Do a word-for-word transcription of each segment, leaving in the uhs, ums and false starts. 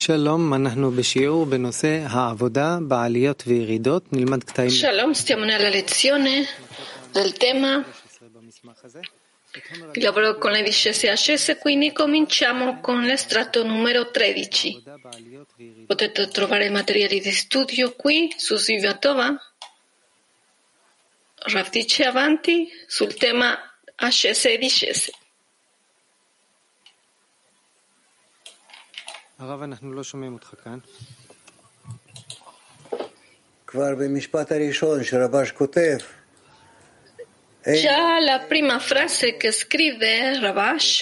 Shalom, stiamo nella lezione del tema il lavoro con le discese e ascese, quindi cominciamo con l'estratto numero tredici. Potete trovare materiali di studio qui su Svivatova. Rav dice avanti sul tema ascese e discese. הרב, אנחנו לא שומעים אותך כאן. כבר במשפט הראשון שרבש כותב. Già la prima frase che scrive Ravash,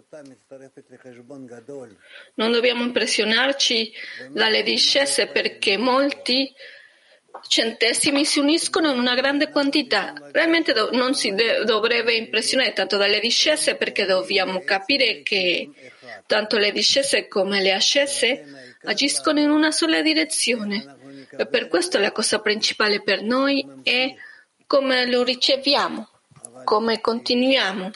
non dobbiamo impressionarci dalle discese perché molti centesimi si uniscono in una grande quantità. Realmente do- non si de- dovrebbe impressionare tanto dalle discese perché dobbiamo capire che tanto le discese come le ascese agiscono in una sola direzione e per questo la cosa principale per noi è come lo riceviamo, come continuiamo.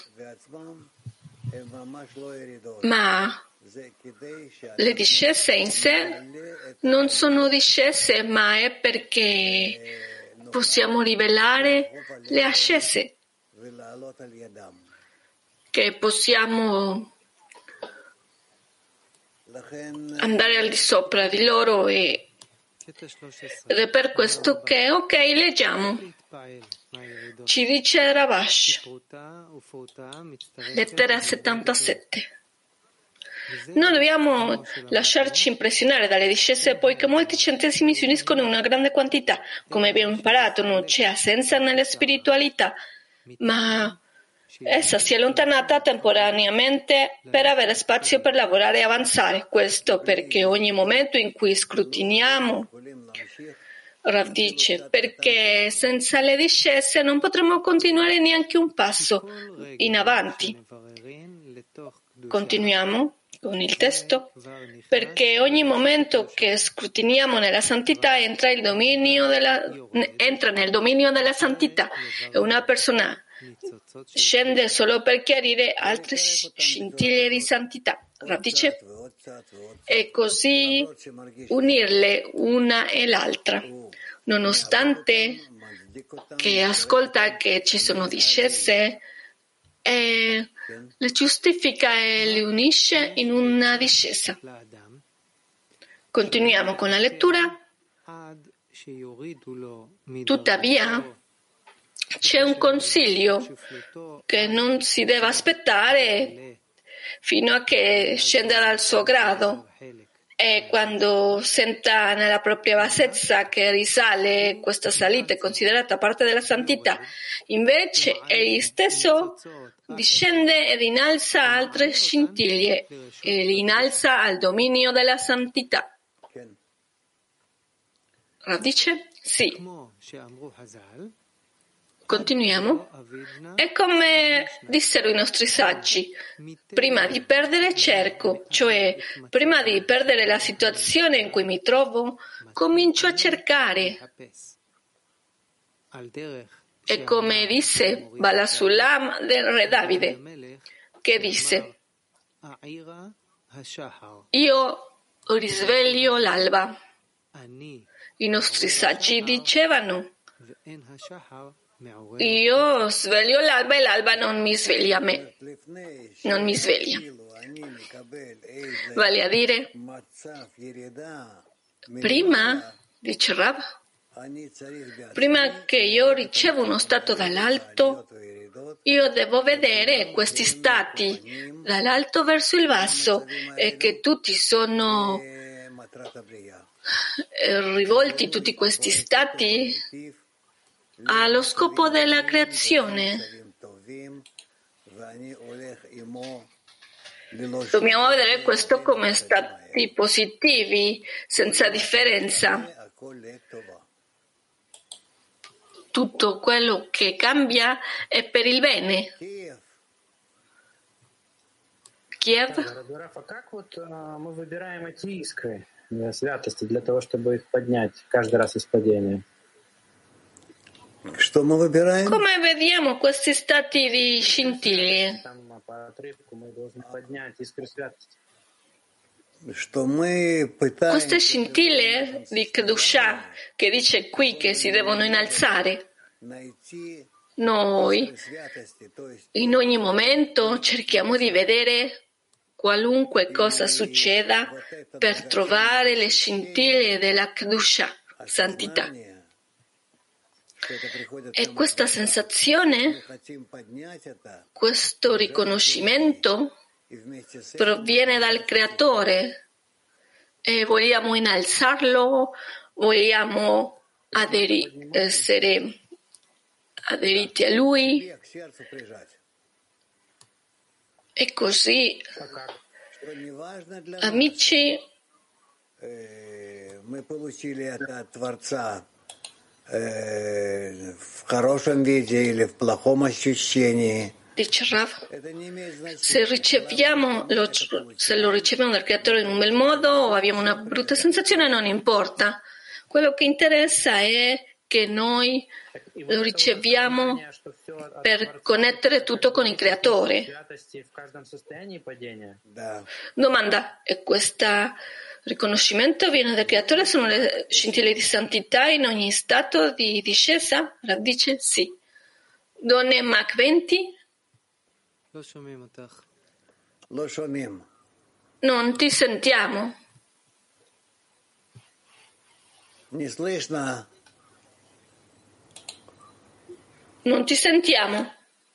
Ma le discese in sé non sono discese, ma è perché possiamo rivelare le ascese, che possiamo andare al di sopra di loro e ed è per questo che, ok, leggiamo. Ci dice Ravash, lettera settantasette. Non dobbiamo lasciarci impressionare dalle discese poiché molti centesimi si uniscono in una grande quantità. Come abbiamo imparato, non c'è assenza nella spiritualità, ma essa si è allontanata temporaneamente per avere spazio per lavorare e avanzare. Questo perché ogni momento in cui scrutiniamo, Rav dice, perché senza le discese non potremo continuare neanche un passo in avanti. Continuiamo con il testo, perché ogni momento che scrutiniamo nella santità entra, il dominio della, entra nel dominio della santità e una persona scende solo per chiarire altre scintille di santità. Rav dice, e così unirle una e l'altra, nonostante che ascolta che ci sono discese e le giustifica e le unisce in una discesa. Continuiamo con la lettura. Tuttavia, c'è un consiglio che non si deve aspettare fino a che scenda dal suo grado e quando senta nella propria bassezza che risale, questa salita è considerata parte della santità. Invece egli stesso discende ed innalza altre scintille e li innalza al dominio della santità. Rav dice? Sì. Continuiamo. È come dissero i nostri saggi, prima di perdere cerco, cioè prima di perdere la situazione in cui mi trovo, comincio a cercare. È come disse Balasulam del re Davide, che disse, io risveglio l'alba. I nostri saggi dicevano, io sveglio l'alba e l'alba non mi sveglia a me, non mi sveglia. Vale a dire, prima, dice Rav, prima che io ricevo uno stato dall'alto, io devo vedere questi stati dall'alto verso il basso e che tutti sono rivolti, tutti questi stati allo scopo della creazione. Dobbiamo vedere questo come stati positivi, senza differenza. Tutto quello che cambia è per il bene. Kiev? Святости для того, чтобы их поднять каждый раз из падения. Come vediamo questi stati di scintille? Queste scintille di Kedusha che dice qui che si devono innalzare, noi in ogni momento cerchiamo di vedere qualunque cosa succeda per trovare le scintille della Kedusha, santità. E questa sensazione, questo riconoscimento proviene dal Creatore e vogliamo innalzarlo, vogliamo aderi- essere aderiti a Lui e così, amici, dice Rav, se riceviamo lo, se lo riceviamo dal Creatore in un bel modo o abbiamo una brutta sensazione non importa, quello che interessa è che noi lo riceviamo per connettere tutto con il Creatore. Domanda, e questo riconoscimento viene dal Creatore? Sono le scintille di santità in ogni stato di discesa? Rav dice sì. Donne Mach venti? Non ti sentiamo. Non ti sentiamo.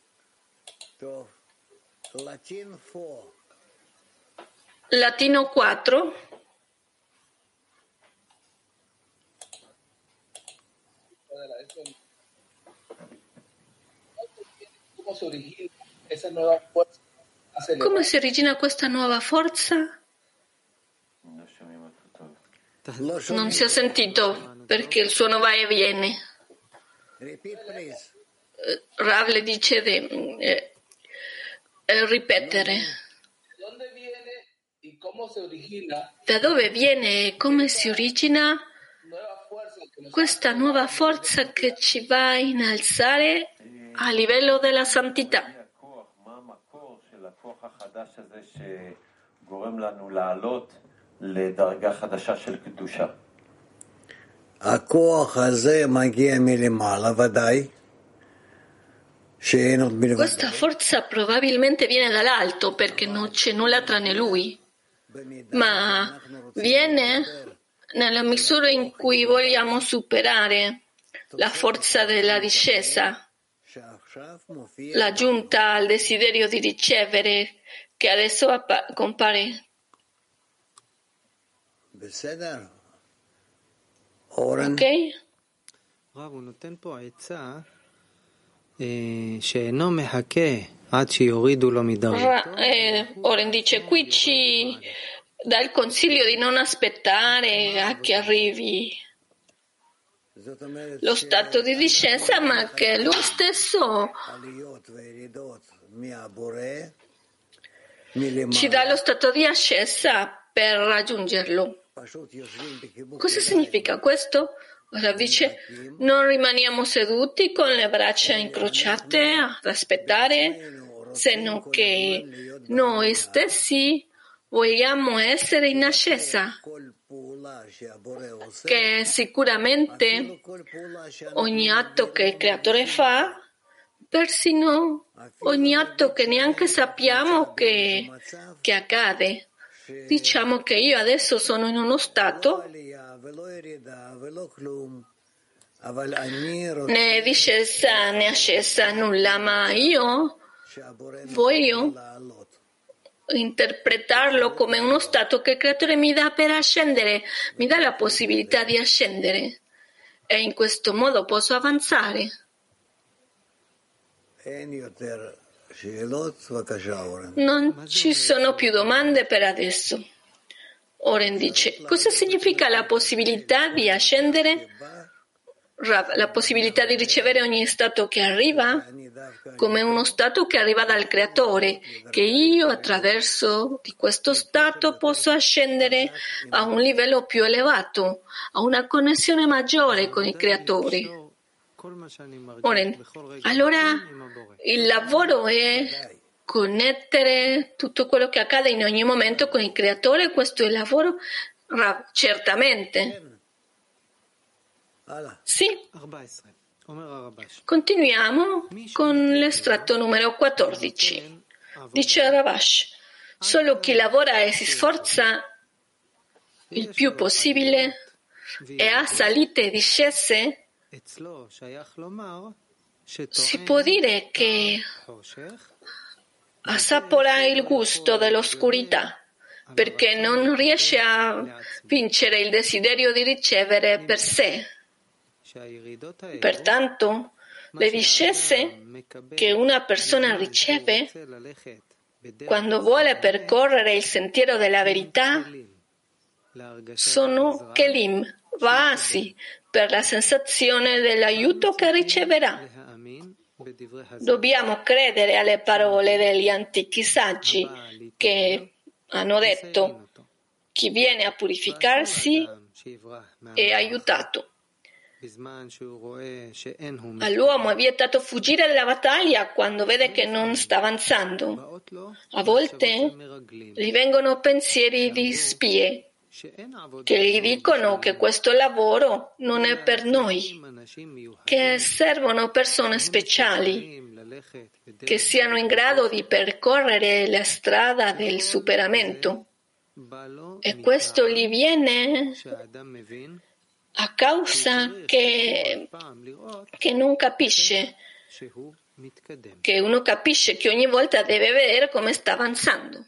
Latino quattro. Come si origina questa nuova forza? Non si è sentito perché il suono va e viene. Rav le dice di eh, eh, ripetere. Da dove viene e come si origina questa nuova forza che ci va a innalzare a livello della santità? Questa forza probabilmente viene dall'alto perché non c'è nulla tranne lui, ma viene nella misura in cui vogliamo superare la forza della discesa, la giunta al desiderio di ricevere che adesso appa- compare. Ok? Rav, הוא נותן פה עצה שאינו מחכה עד שיורידו לו מדרגתו. Oren dice qui ci dà il consiglio di non aspettare a che arrivi lo stato di discesa, ma che lui stesso ci dà lo stato di ascesa per raggiungerlo. Cosa significa questo? Ora dice, non rimaniamo seduti con le braccia incrociate ad aspettare, se non che noi stessi vogliamo essere in ascesa, che sicuramente ogni atto che il Creatore fa, persino ogni atto che neanche sappiamo che, che accade. Diciamo che io adesso sono in uno stato né discesa né ascesa, nulla, ma io voglio interpretarlo come uno stato che il Creatore mi dà per ascendere, mi dà la possibilità di ascendere e in questo modo posso avanzare. Non ci sono più domande per adesso. Oren dice, cosa significa la possibilità di ascendere? La possibilità di ricevere ogni stato che arriva come uno stato che arriva dal Creatore, che io attraverso di questo stato posso ascendere a un livello più elevato, a una connessione maggiore con il Creatore. Oren, allora il lavoro è connettere tutto quello che accade in ogni momento con il Creatore. Questo è il lavoro? Rav, certamente. Sì. Continuiamo con l'estratto numero quattordici. Dice Ravash, solo chi lavora e si sforza il più possibile e ha salite e discese, si può dire che assapora il gusto dell'oscurità, perché non riesce a vincere il desiderio di ricevere per sé. Pertanto, le discese che una persona riceve quando vuole percorrere il sentiero della verità sono kelim, vasi, per la sensazione dell'aiuto che riceverà. Dobbiamo credere alle parole degli antichi saggi che hanno detto: chi viene a purificarsi è aiutato. All'uomo è vietato fuggire dalla battaglia quando vede che non sta avanzando. A volte gli vengono pensieri di spie che gli dicono che questo lavoro non è per noi, che servono persone speciali che siano in grado di percorrere la strada del superamento. E questo gli viene a causa che, che non capisce, che uno capisce che ogni volta deve vedere come sta avanzando.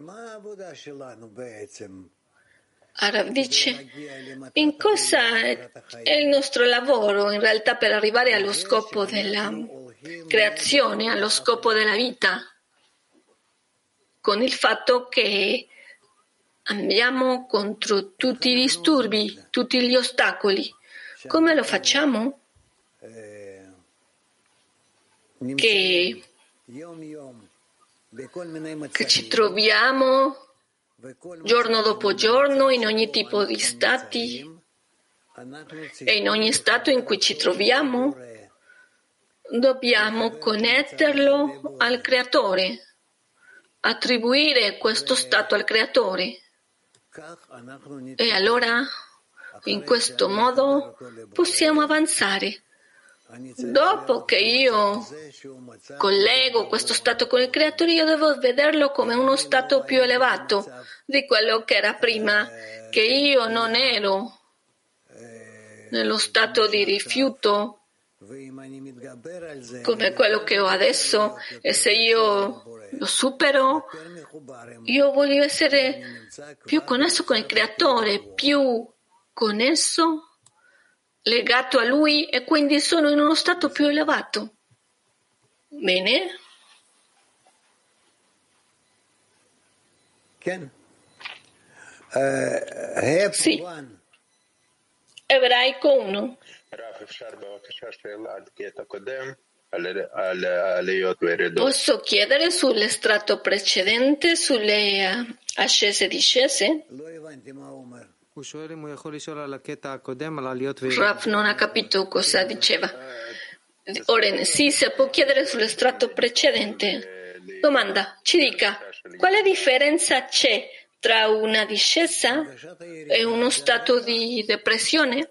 Arav dice, in cosa è il nostro lavoro in realtà per arrivare allo scopo della creazione, allo scopo della vita, con il fatto che andiamo contro tutti i disturbi, tutti gli ostacoli. Come lo facciamo? Che, che ci troviamo giorno dopo giorno in ogni tipo di stati e in ogni stato in cui ci troviamo dobbiamo connetterlo al Creatore, attribuire questo stato al Creatore. E allora, in questo modo, possiamo avanzare. Dopo che io collego questo stato con il Creatore, io devo vederlo come uno stato più elevato di quello che era prima, che io non ero nello stato di rifiuto come quello che ho adesso, e se io lo supero, io voglio essere più connesso con il Creatore, più connesso, legato a Lui, e quindi sono in uno stato più elevato. Bene? Sì. Ebraico uno. Posso chiedere sull'estratto precedente, sulle ascese e discese? Rav non ha capito cosa diceva. Oren, sì, se può chiedere sull'estratto precedente. Domanda, ci dica, quale differenza c'è tra una discesa e uno stato di depressione?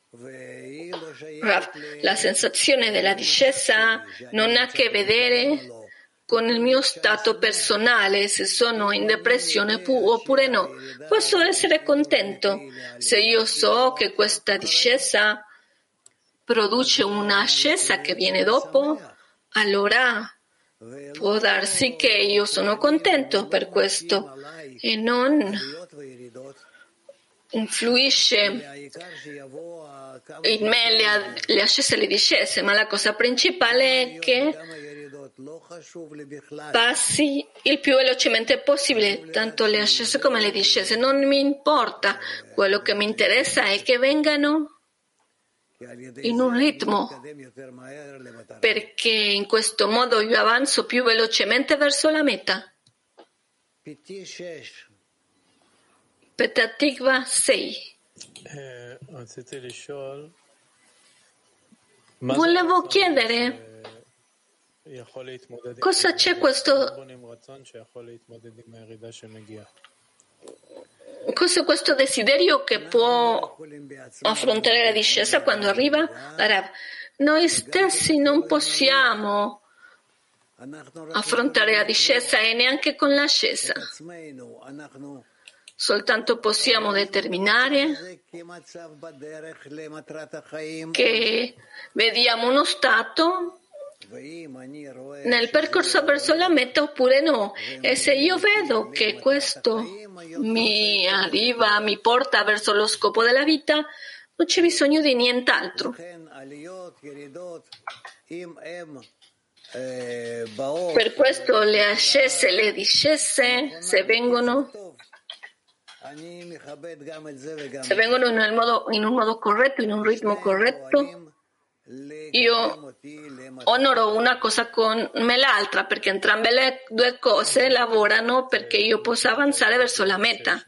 Rav, la sensazione della discesa non ha a che vedere con il mio stato personale, se sono in depressione oppure no. Posso essere contento se io so che questa discesa produce una ascesa che viene dopo, allora può darsi che io sono contento per questo e non influisce in me le, le ascese e le discese, ma la cosa principale è che passi il più velocemente possibile, tanto le ascese come le discese. Non mi importa, quello che mi interessa è che vengano in un ritmo, perché in questo modo io avanzo più velocemente verso la meta. Petatikva sei. Volevo chiedere Cosa c'è questo? Cos'è questo desiderio che può affrontare la discesa quando arriva? Rav, noi stessi non possiamo affrontare la discesa e neanche con l'ascesa. Soltanto possiamo determinare che vediamo uno stato nel percorso verso la meta oppure no. E se io vedo che questo mi arriva, mi porta verso lo scopo della vita, non c'è bisogno di nient'altro. Per questo le ascese e le discese, se vengono se vengono nel modo, in un modo corretto, in un ritmo corretto, io onoro una cosa come l'altra, perché entrambe le due cose lavorano perché io possa avanzare verso la meta.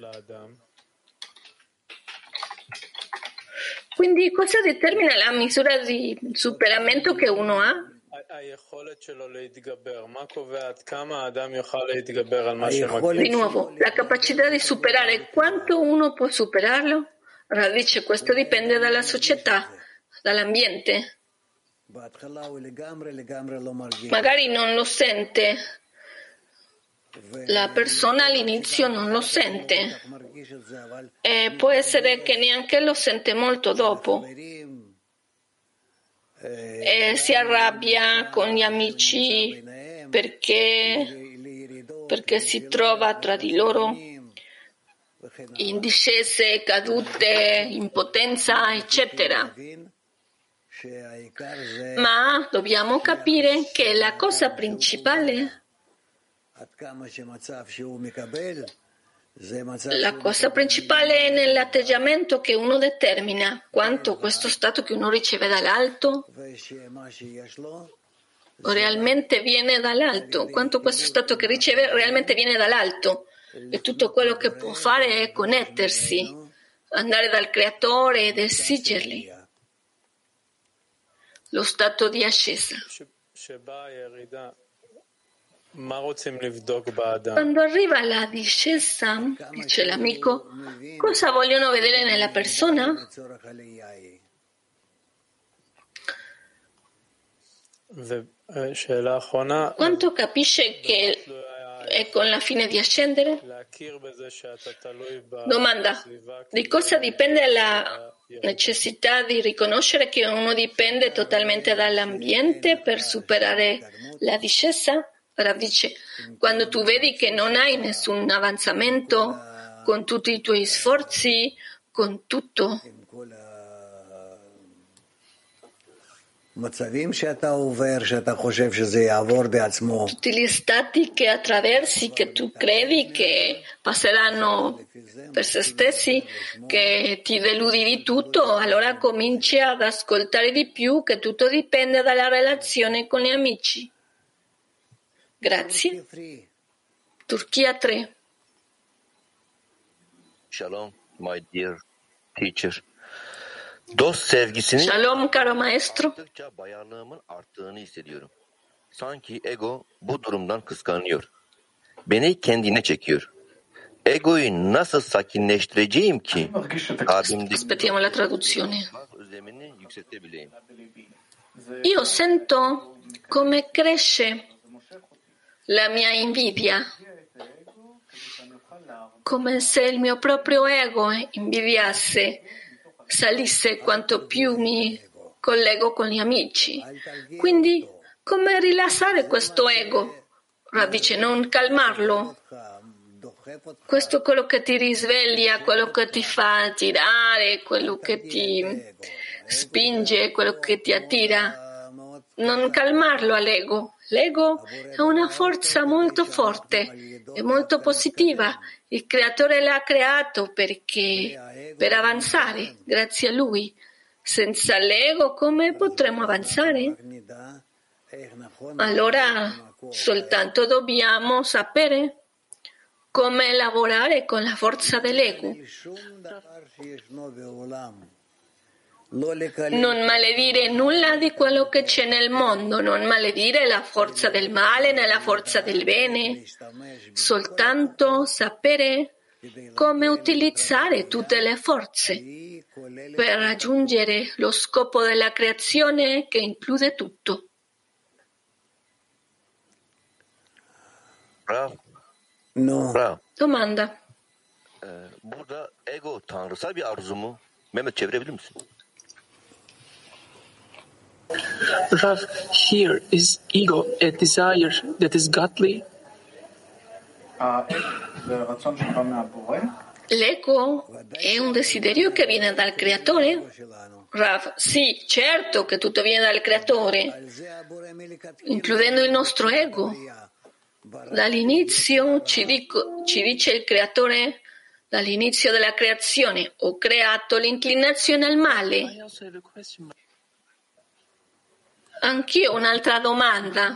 Quindi cosa determina la misura di superamento che uno ha? Di nuovo, la capacità di superare, quanto uno può superarlo? Radice, questo dipende dalla società, dall'ambiente. Magari non lo sente, la persona all'inizio non lo sente e può essere che neanche lo sente molto dopo. E si arrabbia con gli amici perché, perché si trova tra di loro in discese, cadute, impotenza, eccetera. Ma dobbiamo capire che la cosa principale, la cosa principale è nell'atteggiamento che uno determina, quanto questo stato che uno riceve dall'alto realmente viene dall'alto, quanto questo stato che riceve realmente viene dall'alto, e tutto quello che può fare è connettersi, andare dal creatore ed esigerli. Lo stato di ascesa. Quando arriva la discesa, dice l'amico, cosa vogliono vedere nella persona? Quanto capisce che è con la fine di ascendere? Domanda: di cosa dipende la necessità di riconoscere che uno dipende totalmente dall'ambiente per superare la discesa? Rav dice, quando tu vedi che non hai nessun avanzamento con tutti i tuoi sforzi, con tutto, tutti gli stati che attraversi, che tu credi che passeranno per se stessi, che ti deludi di tutto, allora cominci ad ascoltare di più che tutto dipende dalla relazione con gli amici. Grazie. Turchia tre. Shalom, my dear teacher. Dost sevgisinin Shalom, caro maestro. arttıkça bayarlığımın arttığını hissediyorum. Sanki ego bu durumdan kıskanıyor. Beni kendine çekiyor. Egoyu nasıl sakinleştireceğim ki kalbimdeki Aspettiamo la traduzione. özlemini yükseltebileyim? Io sento come cresce la mia invidia, come se il mio proprio ego invidiasse, salisse quanto più mi collego con gli amici. Quindi, come rilassare questo ego? Rav dice, non calmarlo. Questo è quello che ti risveglia, quello che ti fa girare, quello che ti spinge, quello che ti attira. Non calmarlo all'ego. L'ego è una forza molto forte e molto positiva. Il creatore l'ha creato perché per avanzare, grazie a lui. Senza l'ego come potremo avanzare? Allora soltanto dobbiamo sapere come lavorare con la forza dell'ego. Non maledire nulla di quello che c'è nel mondo, non maledire la forza del male né la forza del bene, soltanto sapere come utilizzare tutte le forze per raggiungere lo scopo della creazione che include tutto. Rav, No. Rav, Domanda. e, burada ego tanrısal bir arzu mu? Mehmet çevirebilir misin? Rav, here is ego a desire that is godly? L'ego è un desiderio che viene dal creatore? Rav, sì, certo che tutto viene dal creatore, includendo il nostro ego. Dall'inizio ci, dico, ci dice il creatore, dall'inizio della creazione ho creato l'inclinazione al male. Anch'io ho un'altra domanda,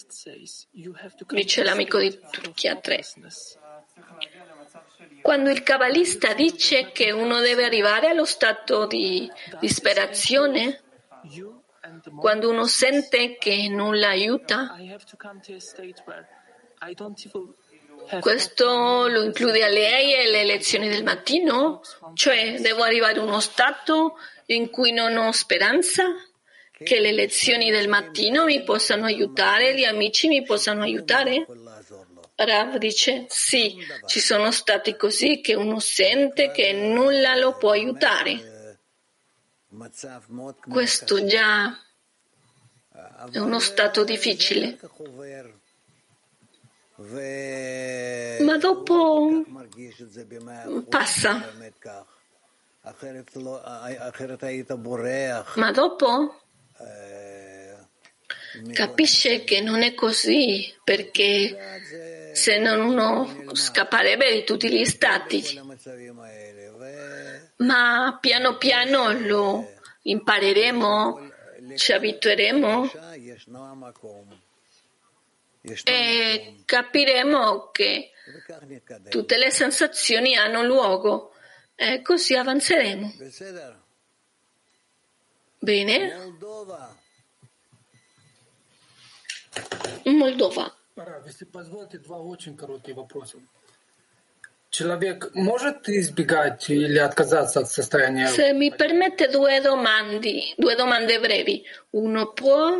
dice l'amico di Turchia tre. Quando il Kabbalista dice che uno deve arrivare allo stato di disperazione, quando uno sente che nulla aiuta, questo lo include a lei e le lezioni del mattino? Cioè, devo arrivare a uno stato in cui non ho speranza? Che le lezioni del mattino mi possano aiutare, gli amici mi possano aiutare? Rav dice, sì, ci sono stati così che uno sente che nulla lo può aiutare. Questo già è uno stato difficile. Ma dopo passa. Ma dopo capisce che non è così, perché se non uno scapperebbe di tutti gli stati. Ma piano piano lo impareremo, ci abitueremo e capiremo che tutte le sensazioni hanno luogo e così avanzeremo. Bene? Moldova. Если позволите, два очень коротких вопроса. Человек может избегать или отказаться от состояния? Se mi permette due domande, due domande brevi. Uno può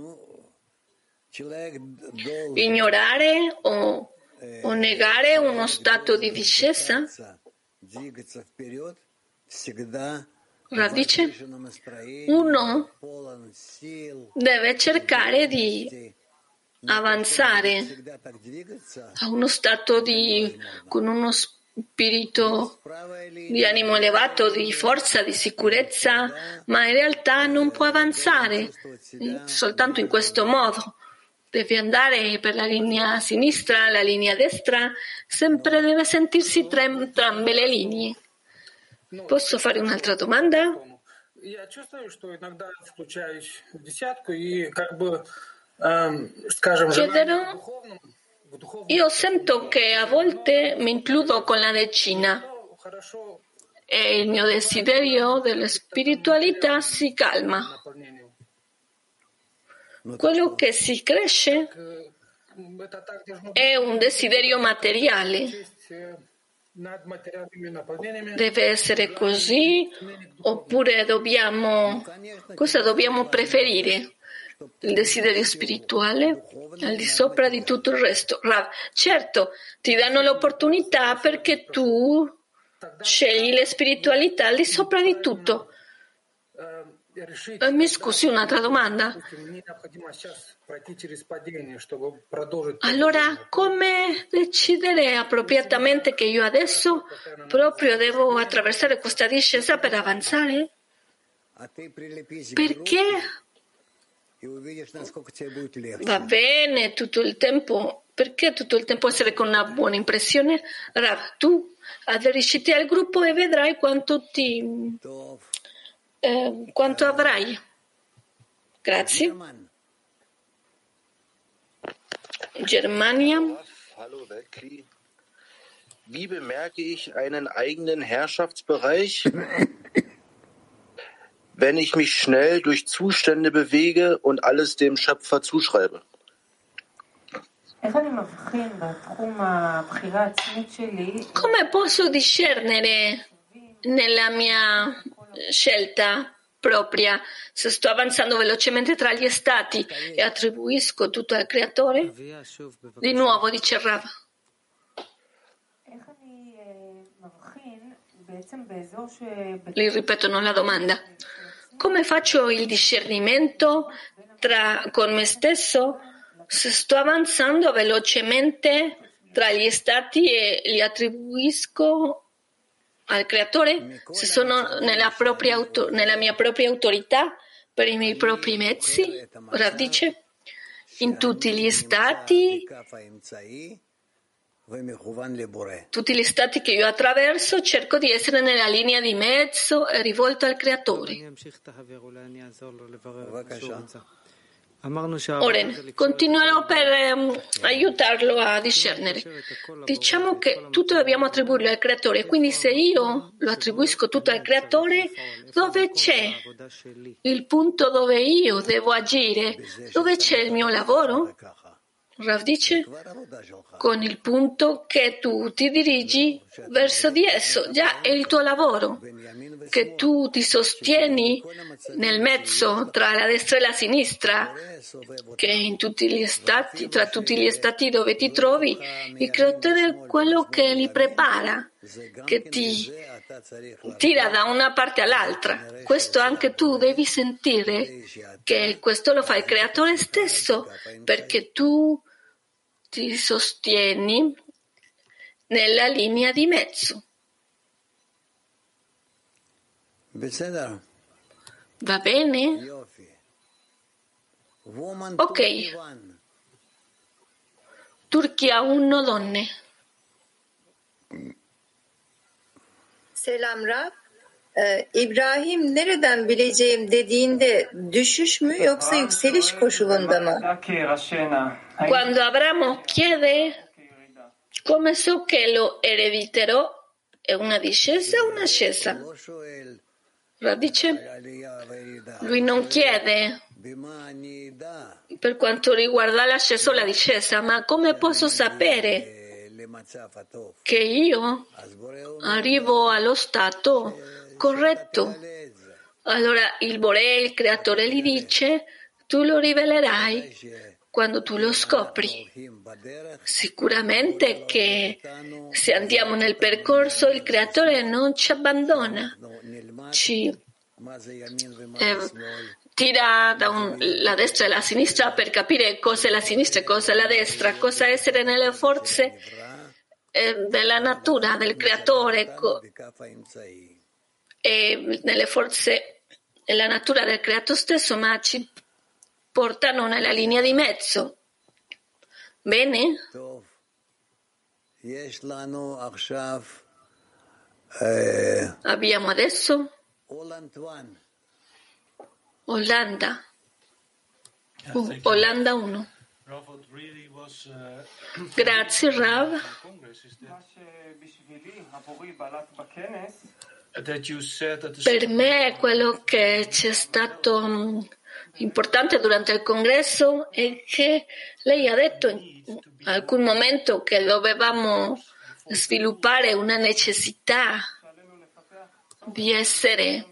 ignorare o, o negare uno stato di discesa? Radice? Uno deve cercare di avanzare a uno stato di, con uno spirito di animo elevato, di forza, di sicurezza, ma in realtà non può avanzare soltanto in questo modo. Deve andare per la linea sinistra, la linea destra, sempre deve sentirsi tra entrambe le linee. Posso fare un'altra domanda? Я чувствую, что иногда включаюсь в десятку и как бы, эм, скажем, желание духовному, в духовном. Io sento che a volte mi includo con la decina e il mio desiderio della spiritualità si calma. Quello che si cresce è un desiderio materiale. Deve essere così oppure dobbiamo cosa dobbiamo preferire? Il desiderio spirituale al di sopra di tutto il resto. Rav, certo, ti danno l'opportunità perché tu scegli la spiritualità al di sopra di tutto. Mi scusi, un'altra domanda. Allora, come decidere appropriatamente che io adesso proprio devo attraversare questa discesa per avanzare? Perché va bene tutto il tempo, perché tutto il tempo essere con una buona impressione? Rav, tu aderisciti al gruppo e vedrai quanto ti eh, quanto avrai. Grazie. Germania. Hallo Weltkrieg. Wie bemerke ich einen eigenen Herrschaftsbereich? wenn ich mich schnell durch Zustände bewege und alles dem Schöpfer zuschreibe? Come posso discernere nella mia scelta propria se sto avanzando velocemente tra gli stati e attribuisco tutto al Creatore? Di nuovo, dice Rav. Li ripetono la domanda. Come faccio il discernimento tra, con me stesso se sto avanzando velocemente tra gli stati e li attribuisco al Creatore? Se sono nella, propria auto, nella mia propria autorità per i miei propri mezzi? Rav dice, in tutti gli stati Tutti gli stati che io attraverso cerco di essere nella linea di mezzo e rivolto al Creatore. Oren, continuerò per um, aiutarlo a discernere. Diciamo che tutto dobbiamo attribuirlo al Creatore, quindi se io lo attribuisco tutto al Creatore, dove c'è il punto dove io devo agire? Dove c'è il mio lavoro? Rav dice, con il punto che tu ti dirigi verso di esso, già è il tuo lavoro, che tu ti sostieni nel mezzo tra la destra e la sinistra, che in tutti gli stati, tra tutti gli stati dove ti trovi, il Creatore è quello che li prepara, che ti tira da una parte all'altra. Questo anche tu devi sentire, che questo lo fa il Creatore stesso, perché tu ti sostieni nella linea di mezzo. Va bene? Ok. Turchia uno, donne. Selam Rab. Ee, İbrahim nereden bileceğim dediğinde düşüş mü yoksa yükseliş koşulunda mı? Quando Abramo chiede come so che lo erediterò, è una discesa o un'ascesa? Radice, lui non chiede per quanto riguarda l'ascesa o la discesa, ma come posso sapere che io arrivo allo stato corretto? Allora il Boré, il Creatore, gli dice, tu lo rivelerai quando tu lo scopri. Sicuramente che se andiamo nel percorso il Creatore non ci abbandona, ci eh, tira da un, la destra e la sinistra per capire cosa è la sinistra e cosa è la destra, cosa essere nelle forze eh, della natura, del Creatore co- e nelle forze della natura del Creatore stesso, ma ci portano nella linea di mezzo. Bene? Abbiamo adesso Olanda. Uh, Olanda uno. Grazie Rav. Per me quello che c'è stato um, importante durante il congresso è che lei ha detto in alcun momento che dovevamo sviluppare una necessità di essere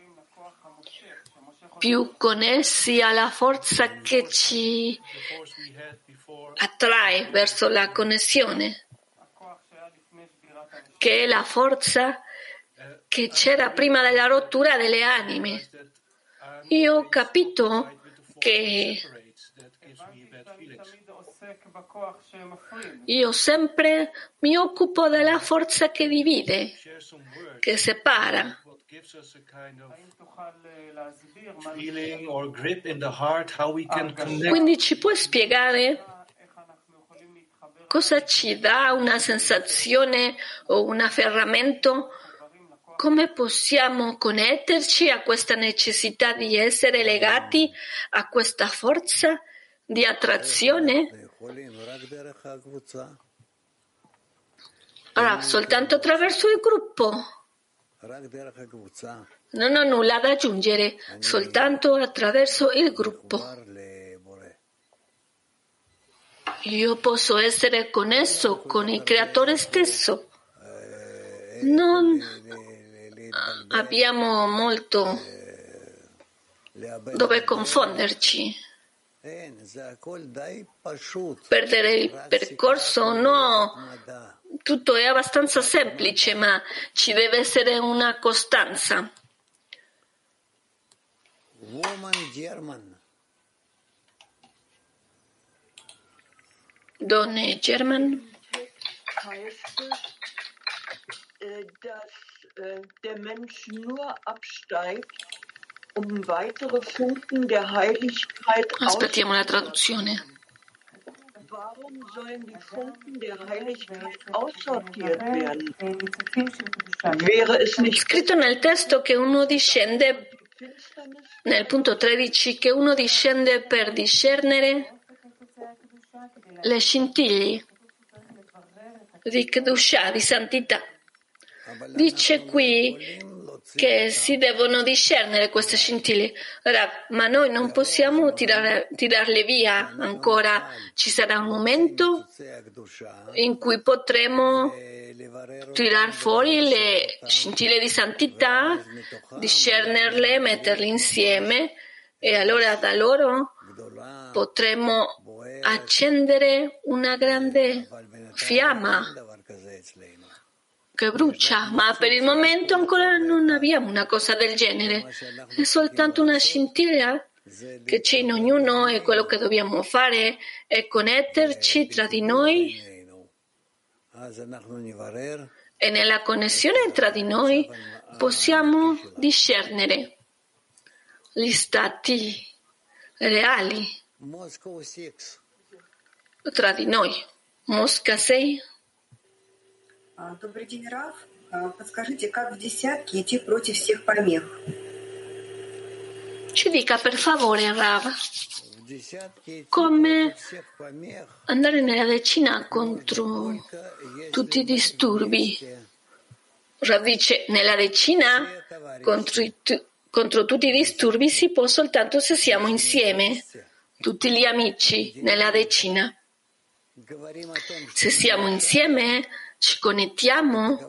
più connessi alla forza che ci attrae verso la connessione, che è la forza che c'era prima della rottura delle anime. Io ho capito che io sempre mi occupo della forza che divide, che separa. Quindi ci puoi spiegare cosa ci dà una sensazione o un afferramento? Come possiamo connetterci a questa necessità di essere legati a questa forza di attrazione? Allora, soltanto attraverso il gruppo. Non ho nulla da aggiungere, soltanto attraverso il gruppo. Io posso essere connesso con il Creatore stesso. Non abbiamo molto dove confonderci. Perdere il percorso, no. Tutto è abbastanza semplice, ma ci deve essere una costanza. Donne German. Dass der Mensch nur absteigt, um weitere Funken der Heiligkeit Aspettiamo la traduzione. Warum sollen die Funken der Heiligkeit aussortiert werden? Wäre es nicht Scritto nel testo che uno discende, nel punto tredici, che uno discende per discernere le scintille di Kedusha, di santità. Dice qui che si devono discernere queste scintille. Rav, ma noi non possiamo tirare, tirarle via ancora. Ci sarà un momento in cui potremo tirar fuori le scintille di santità, discernerle, metterle insieme e allora da loro potremo accendere una grande fiamma che brucia, ma per il momento ancora non abbiamo una cosa del genere. È soltanto una scintilla che c'è in ognuno e quello che dobbiamo fare è connetterci tra di noi e nella connessione tra di noi possiamo discernere gli stati reali tra di noi. Mosca sei. Добрый день, Рав. Подскажите, как в десятке идти против всех помех? Ci dica per favore, Rav, come andare nella decina contro tutti i disturbi. Rav dice, nella decina contro, i, contro tutti i disturbi si può soltanto se siamo insieme, tutti gli amici nella decina. Se siamo insieme, ci connettiamo,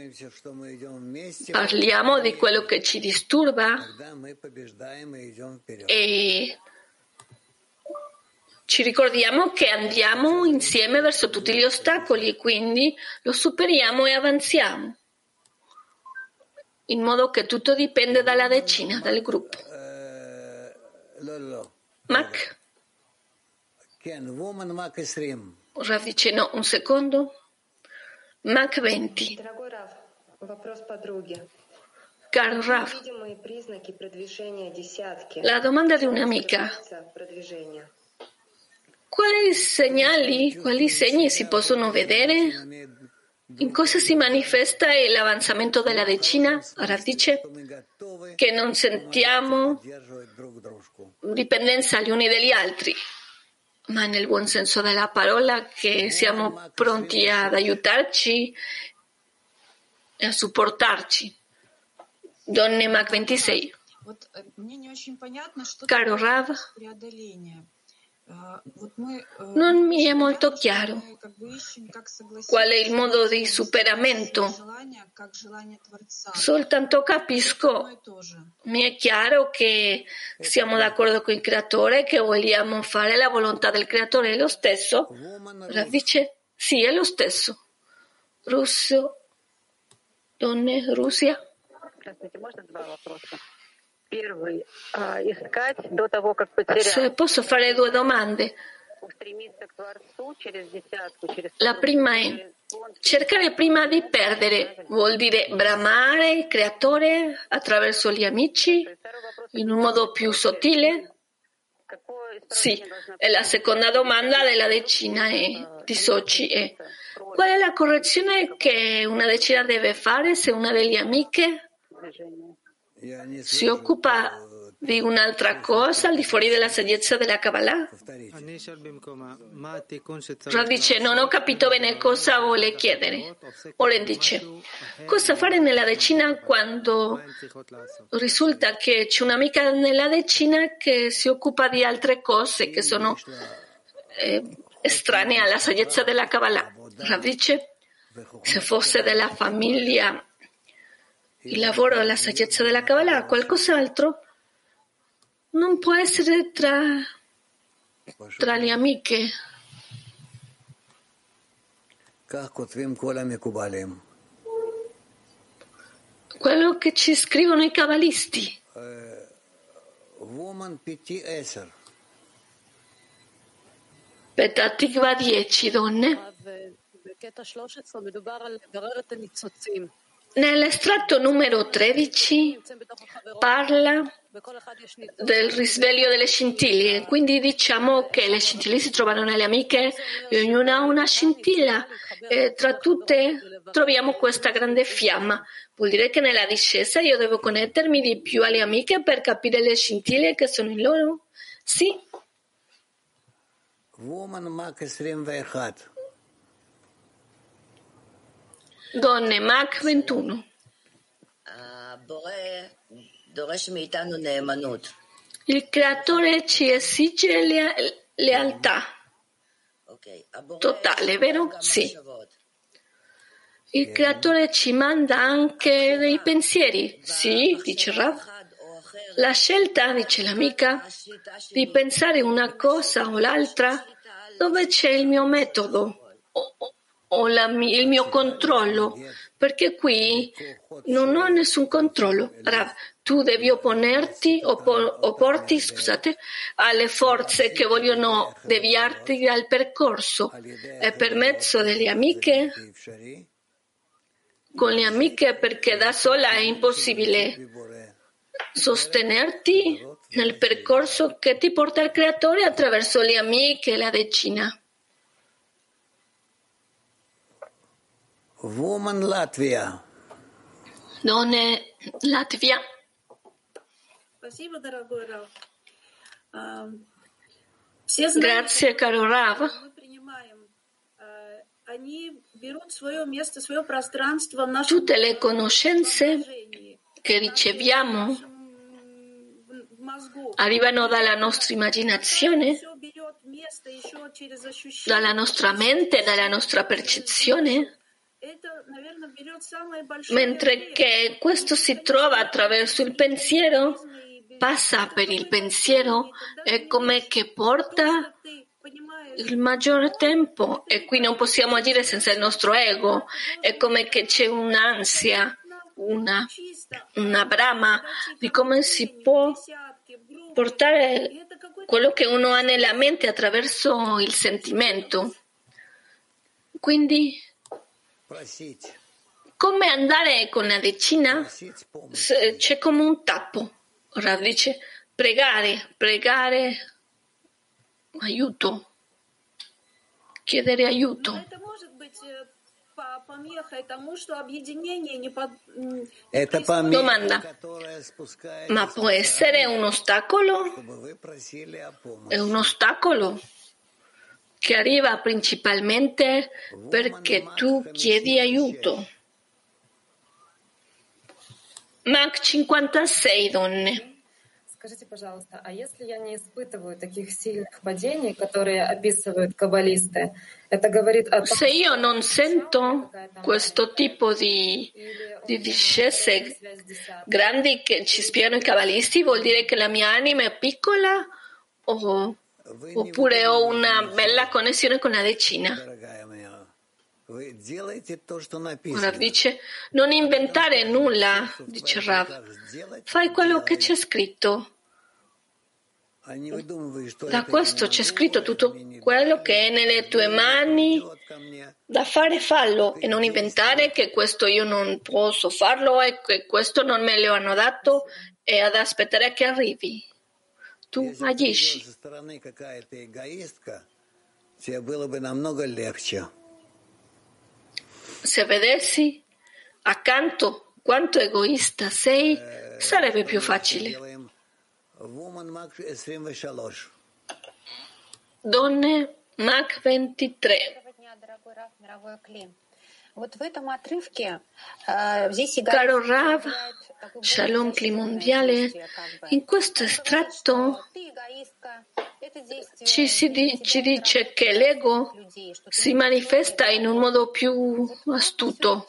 parliamo di quello che ci disturba e ci ricordiamo che andiamo insieme verso tutti gli ostacoli e quindi lo superiamo e avanziamo, in modo che tutto dipende dalla decina, dal gruppo. Mac? Rav dice no, un secondo. Mac venti. Caro Rav, la domanda di un'amica. Quali segnali, quali segni si possono vedere? In cosa si manifesta l'avanzamento della decina? Rav dice che non sentiamo dipendenza gli uni dagli altri, ma nel buon senso della parola, che siamo pronti ad aiutarci e a supportarci. Donne Mac ventisei. Caro Rav, non mi è molto chiaro qual è il modo di superamento. Soltanto capisco, mi è chiaro che siamo d'accordo con il Creatore, che vogliamo fare la volontà del Creatore. È lo stesso? Rav dice, sì, è lo stesso. Russo, donne, Russia. Se posso fare due domande. La prima è cercare prima di perdere, vuol dire bramare il Creatore attraverso gli amici in un modo più sottile? Sì, e la seconda domanda della decina è, di Sochi è, qual è la correzione che una decina deve fare se una delle amiche si occupa di un'altra cosa al di fuori della saggezza della Kabbalah? Rav dice, non ho capito bene cosa vuole chiedere. Oren dice, cosa fare nella decina quando risulta che c'è un'amica nella decina che si occupa di altre cose che sono eh, estranee alla saggezza della Kabbalah? Rav dice, se fosse della famiglia il lavoro e la saggezza della Kabbalah, qualcos'altro non può essere tra, tra le amiche. Quello che ci scrivono i cabalisti. Petah Tikva dieci donne. Nell'estratto numero tredici parla del risveglio delle scintille, quindi diciamo che le scintille si trovano nelle amiche e ognuna ha una scintilla e tra tutte troviamo questa grande fiamma. Vuol dire che nella discesa io devo connettermi di più alle amiche per capire le scintille che sono in loro? Sì. Donne, Mach ventuno. Il creatore ci esige lea- lealtà totale, vero? Sì. Il creatore ci manda anche dei pensieri. Sì, dice Rav. La scelta, dice l'amica, di pensare una cosa o l'altra, dove c'è il mio metodo o, o la, il mio controllo, perché qui non ho nessun controllo. Rav, tu devi opponerti, oppo, opporti, scusate, alle forze che vogliono deviarti dal percorso e per mezzo delle amiche, con le amiche, perché da sola è impossibile sostenerti nel percorso che ti porta il creatore attraverso le amiche e la decina. Woman Latvia. Donne Latvia. Grazie, caro Rav. Tutte le conoscenze che riceviamo arrivano dalla nostra immaginazione, dalla nostra mente, dalla nostra percezione, mentre che questo si trova attraverso il pensiero, passa per il pensiero, è come che porta il maggior tempo e qui non possiamo agire senza il nostro ego, è come che c'è un'ansia, una, una brama di come si può portare quello che uno ha nella mente attraverso il sentimento. Quindi, come andare con la decina? C'è come un tappo. Rav dice pregare, pregare, aiuto, chiedere aiuto. Domanda, ma può essere un ostacolo? È un ostacolo che arriva principalmente perché tu chiedi aiuto. Mach cinquantasei donne. Скажите, пожалуйста, а если я не испытываю таких сильных падений, которые описывают каббалисты, это говорит о том, se io non sento questo tipo di, di discese grandi che ci spiegano i cabalisti, vuol dire che la mia anima è piccola o, oppure ho una bella connessione con la decina? Rav dice, non inventare nulla, dice Rav, fai quello che c'è scritto. Da questo c'è scritto tutto quello che è nelle tue mani da fare, fallo e non inventare che questo io non posso farlo e che questo non me lo hanno dato e ad aspettare che arrivi. Tu agisci. Se vedessi accanto quanto egoista sei, sarebbe più facile. Donne, Mach ventitré. Caro Rav, Shalom Cli Mondiale, in questo estratto ci, si di, ci dice che l'ego si manifesta in un modo più astuto.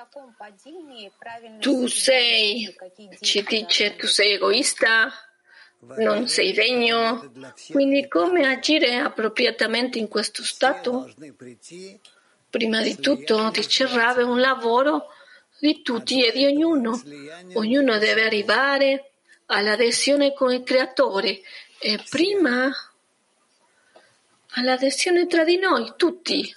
Tu sei, ci dice, tu sei egoista, non sei degno, quindi come agire appropriatamente in questo stato? Prima di tutto, dice Rav, è un lavoro di tutti e di ognuno. Ognuno deve arrivare all'adesione con il Creatore e prima all'adesione tra di noi, tutti.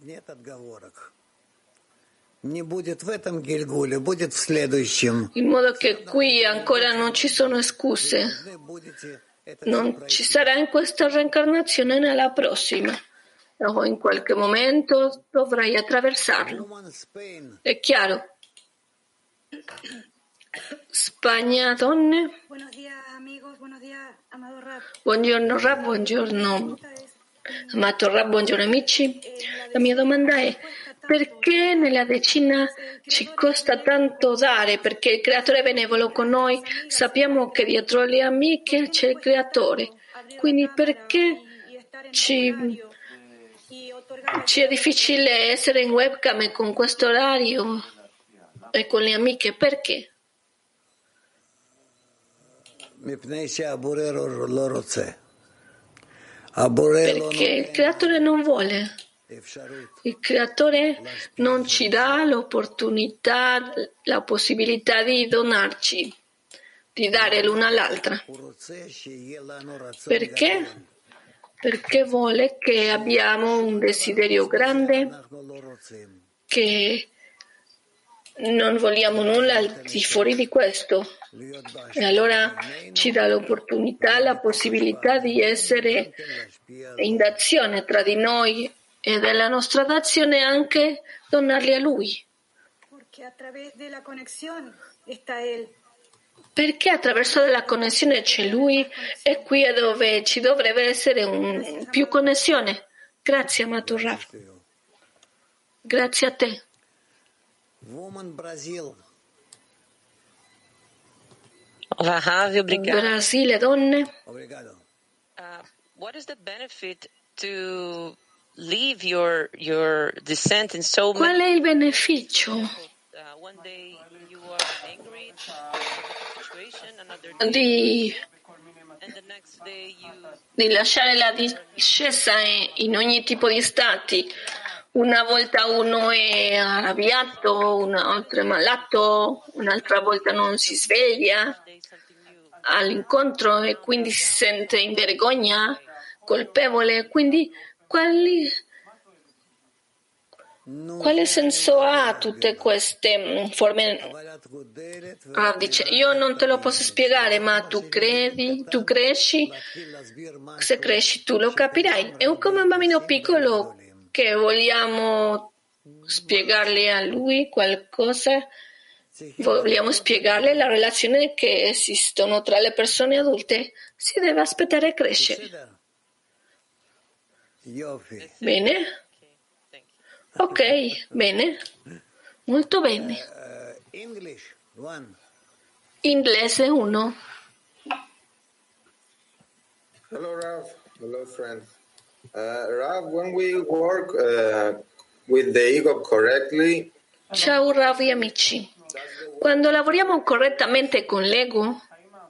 In modo che qui ancora non ci sono scuse. Non ci sarà in questa reincarnazione nella prossima. O in qualche momento dovrai attraversarlo. È chiaro? Spagna, donne. Buongiorno Rab, buongiorno amato Rab, buongiorno amici. La mia domanda è: perché nella decina ci costa tanto dare? Perché il Creatore è benevolo con noi, sappiamo che dietro le amiche c'è il Creatore. Quindi perché ci... Ci è difficile essere in webcam e con questo orario e con le amiche, perché? Perché il Creatore non vuole. Il Creatore non ci dà l'opportunità, la possibilità di donarci, di dare l'una all'altra. Perché? Perché vuole che abbiamo un desiderio grande, che non vogliamo nulla al di fuori di questo. E allora ci dà l'opportunità, la possibilità di essere in d'azione tra di noi e della nostra d'azione anche donarli a Lui. Perché attraverso la connessione c'è Lui e qui è dove ci dovrebbe essere un, più connessione. Grazie, amato Rav. Grazie a te. Brasile, donne. Uh, what is the benefit to leave your your descent in so Qual è il beneficio di, di lasciare la discesa in ogni tipo di stati? Una volta uno è arrabbiato, un'altra è malato, un'altra volta non si sveglia all'incontro e quindi si sente in vergogna, colpevole. Quindi quali, quale senso ha tutte queste forme? Ah, dice, io non te lo posso spiegare, ma tu credi, tu cresci, se cresci tu lo capirai. È come un bambino piccolo che vogliamo spiegargli a lui qualcosa. Vogliamo spiegarle la relazione che esistono tra le persone adulte. Si deve aspettare a crescere. Bene? Ok, bene. Molto bene. Inglese uno. Hello, Rav. Hello, friends. Uh, Rav, when we work uh, with the ego correctly. Ciao, Rav e amici. Quando lavoriamo correttamente con l'ego,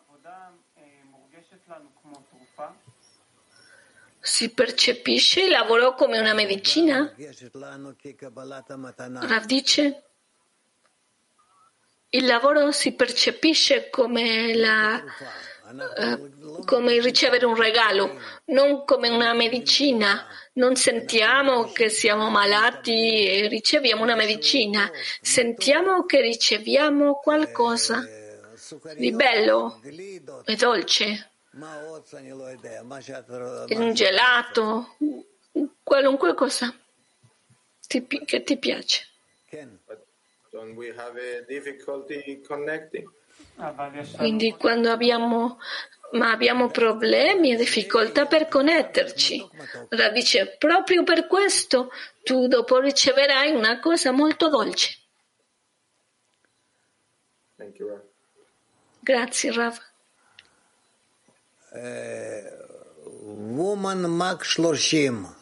si percepisce il lavoro come una medicina? Rav dice, il lavoro si percepisce come, la, uh, come ricevere un regalo, non come una medicina. Non sentiamo che siamo malati e riceviamo una medicina, sentiamo che riceviamo qualcosa di bello e dolce, un gelato, qualunque cosa che ti piace. Quindi quando abbiamo, ma abbiamo problemi e difficoltà per connetterci, Rav dice proprio per questo tu dopo riceverai una cosa molto dolce. Thank you, Rav. Grazie Rav. Eh, woman Mac Shloshim.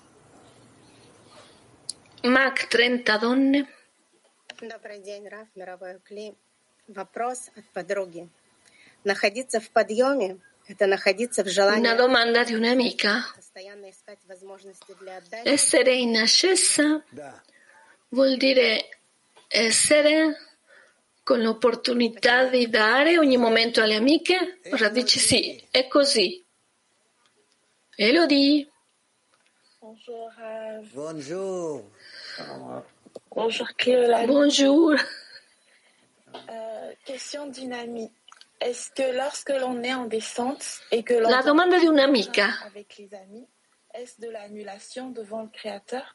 Mac trenta donne. Добрый день, Рав, мировой Кли. Вопрос от подруги. Находиться в подъеме – это находиться в желании. Una domanda di un'amica. Постоянно искать возможности для отдачи. Essere in ascesa vuol dire essere con l'opportunità di dare ogni momento alle amiche? Ora dice sì, è così. Elodie. Bonjour, Rav. Bonjour. Bonjour, Cléolane. Bonjour. Euh, question d'une amie. Est-ce que lorsque l'on est en descente et que l'on La domanda di un'amica. avec les amis, est-ce de l'annulation devant le Créateur?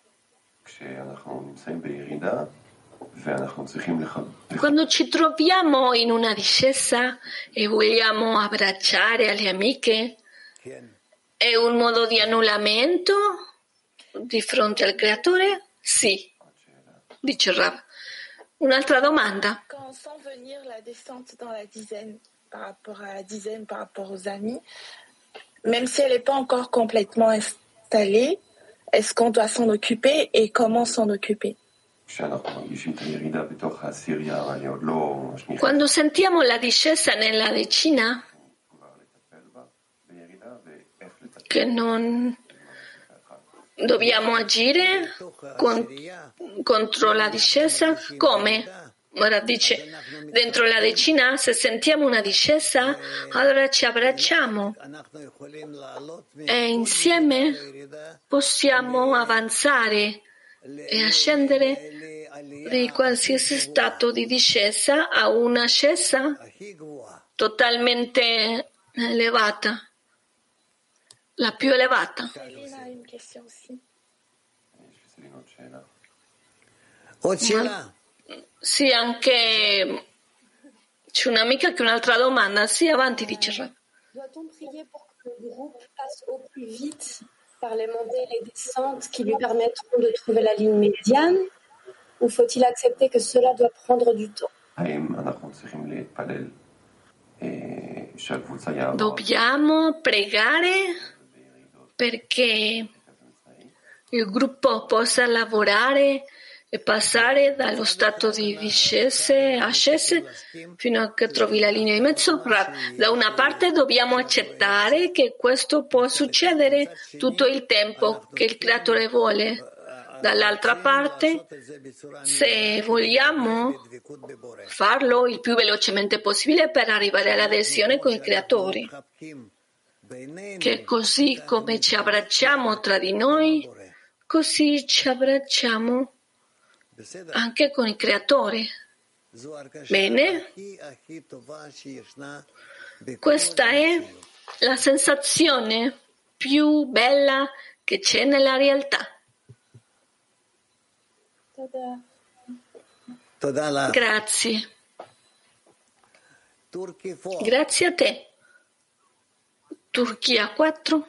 Quando ci troviamo in una discesa e vogliamo abbracciare alle amiche, è un modo di annullamento di fronte al Creatore? Sì, dice Rav. Un'altra domanda. Quand on sent venir la descente dans la dizaine par rapport à la dizaine, par rapport aux amis, même si elle n'est pas encore complètement installée, est-ce qu'on doit s'en occuper et comment s'en occuper? Quando sentiamo la discesa nella decina, che non dobbiamo agire con, contro la discesa, come? Ora dice, dentro la decina, se sentiamo una discesa, allora ci abbracciamo e insieme possiamo avanzare e ascendere di qualsiasi stato di discesa a una ascesa totalmente elevata, la più elevata. Ma, sì, anche c'è un'amica che ha un'altra domanda. Sì, avanti, dice Rav. Doit-on prier pour que le groupe passe au plus vite par les montées et les descentes qui lui permettront de trouver la ligne médiane, ou faut-il accepter que cela doit prendre du temps? Dobbiamo pregare perché il gruppo possa lavorare e passare dallo stato di discese a ascese fino a che trovi la linea di mezzo. Da una parte dobbiamo accettare che questo può succedere tutto il tempo che il Creatore vuole. Dall'altra parte, se vogliamo farlo il più velocemente possibile per arrivare all'adesione con il Creatore, che così come ci abbracciamo tra di noi, così ci abbracciamo anche con il Creatore. Bene? Questa è la sensazione più bella che c'è nella realtà. Grazie. Grazie a te. Turchia quattro.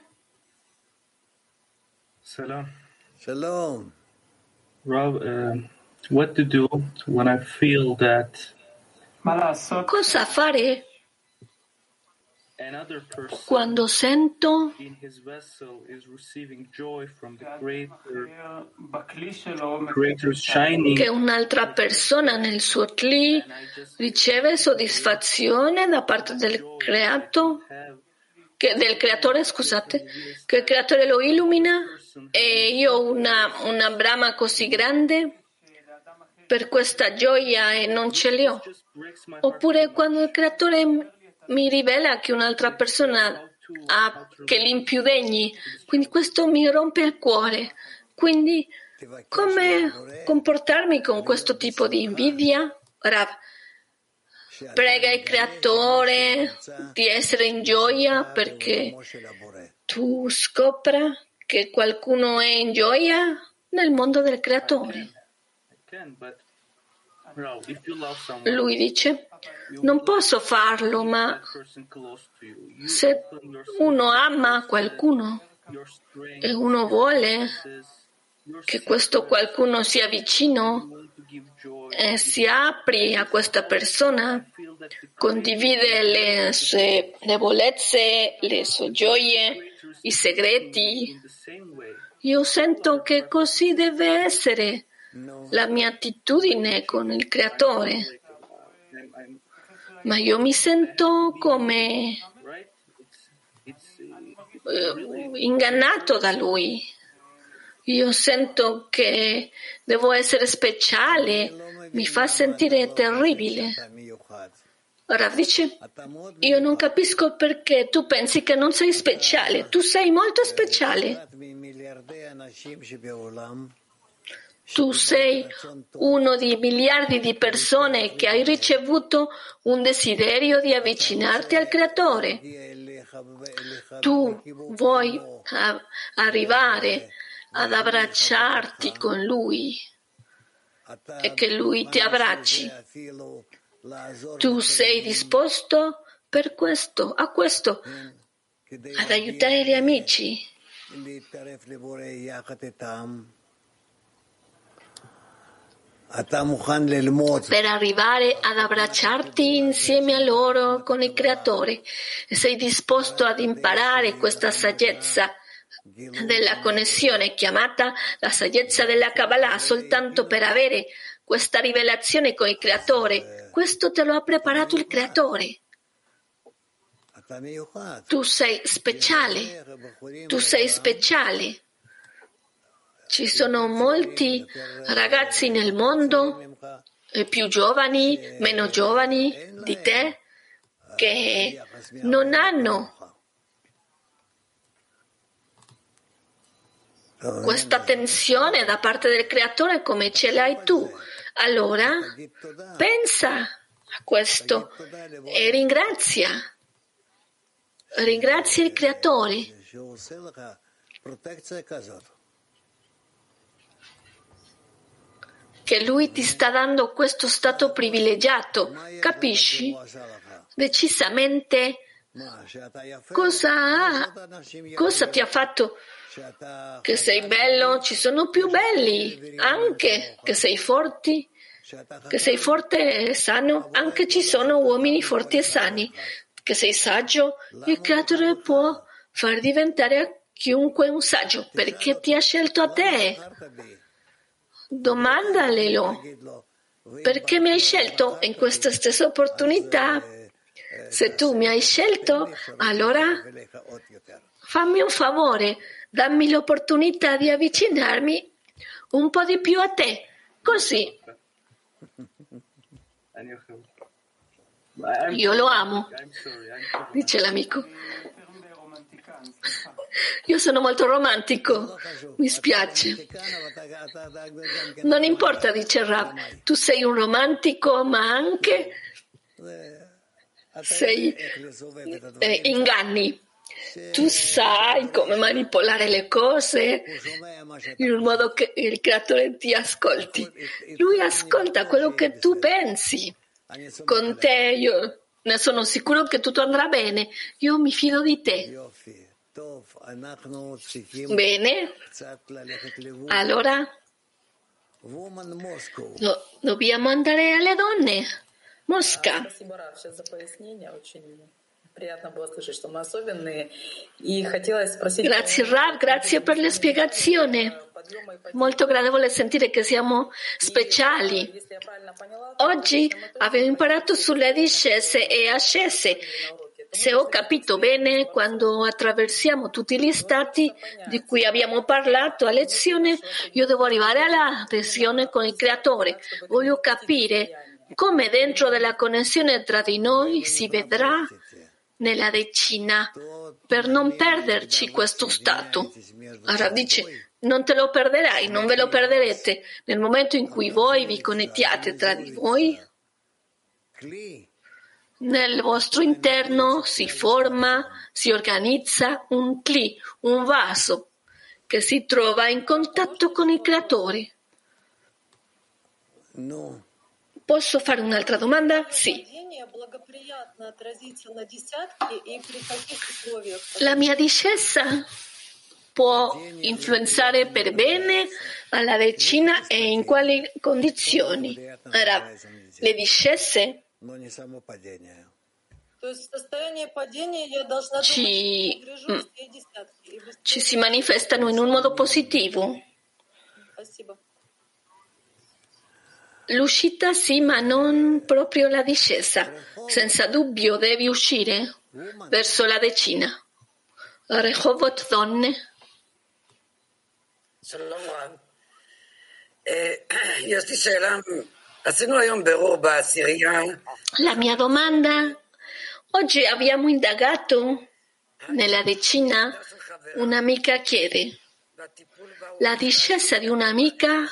Salam. Shalom. Rav, uh, what to do when I feel that Cosa fare another person quando sento in his vessel is receiving joy from the Creator, Creator's shining, che un'altra persona nel suo Kli riceve soddisfazione da parte del creato, che, del creatore, scusate, che il creatore lo illumina e io ho una, una brama così grande per questa gioia e non ce li ho. Oppure quando il creatore mi rivela che un'altra persona ha che li più degni, quindi questo mi rompe il cuore. Quindi come comportarmi con questo tipo di invidia? Rav, prega il creatore di essere in gioia perché tu scopra che qualcuno è in gioia nel mondo del creatore. Lui dice, non posso farlo, ma se uno ama qualcuno e uno vuole che questo qualcuno sia vicino e si apri a questa persona, condivide le sue debolezze, le sue gioie, i segreti. Io sento che così deve essere la mia attitudine con il Creatore, ma io mi sento come eh, ingannato da Lui. Io sento che devo essere speciale, mi fa sentire terribile. Rav dice, io non capisco perché tu pensi che non sei speciale, tu sei molto speciale. Tu sei uno di miliardi di persone che hai ricevuto un desiderio di avvicinarti al Creatore. Tu vuoi arrivare ad abbracciarti con Lui e che Lui ti abbracci. Tu sei disposto per questo, a questo, ad aiutare gli amici. Per arrivare ad abbracciarti insieme a loro con il Creatore. E sei disposto ad imparare questa saggezza della connessione chiamata la saggezza della Kabbalah soltanto per avere questa rivelazione con il Creatore. Questo te lo ha preparato il Creatore. Tu sei speciale, tu sei speciale. Ci sono molti ragazzi nel mondo, più giovani, meno giovani di te, che non hanno questa tensione da parte del Creatore come ce l'hai tu. Allora pensa a questo e ringrazia. Ringrazia il Creatore che Lui ti sta dando questo stato privilegiato. Capisci? Decisamente cosa, cosa ti ha fatto che sei bello? Ci sono più belli, anche che sei forti, che sei forte e sano, anche ci sono uomini forti e sani, che sei saggio, il Creatore può far diventare a chiunque un saggio, perché ti ha scelto a te. Domandalelo, perché mi hai scelto in questa stessa opportunità? Se tu mi hai scelto, allora fammi un favore, dammi l'opportunità di avvicinarmi un po' di più a te, così. Io lo amo, dice l'amico. Io sono molto romantico, mi spiace. Non importa, dice Rav, tu sei un romantico, ma anche sei eh, inganni. Tu sai come manipolare le cose in un modo che il Creatore ti ascolti. Lui ascolta quello che tu pensi. Con te io ne sono sicuro che tutto andrà bene. Io mi fido di te. Bene, allora do- dobbiamo andare alle donne. Mosca. Grazie Rav, grazie per la spiegazione. Molto gradevole sentire che siamo speciali. Oggi abbiamo imparato sulle discese e ascese. Se ho capito bene, quando attraversiamo tutti gli stati di cui abbiamo parlato a lezione, io devo arrivare all'adesione con il Creatore. Voglio capire come dentro della connessione tra di noi si vedrà nella decina per non perderci questo stato. Allora dice, non te lo perderai, non ve lo perderete. Nel momento in cui voi vi connettiate tra di voi, nel vostro interno si forma, si organizza un cli, un vaso che si trova in contatto con il Creatore. Posso fare un'altra domanda? Sì. La mia discesa può influenzare per bene alla decina e in quali condizioni? Ora, le discese ci, ci si manifestano in un modo positivo. L'uscita sì, ma non proprio la discesa. Senza dubbio devi uscire verso la decina. Rehovot donne. La mia domanda: oggi abbiamo indagato nella decina, un'amica chiede, la discesa di un'amica,